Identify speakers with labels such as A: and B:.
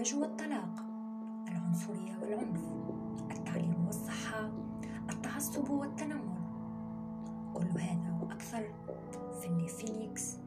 A: الزواج والطلاق، العنصرية والعنف، التعليم والصحة، التعصب والتنمر. كل هذا وأكثر في فينيكس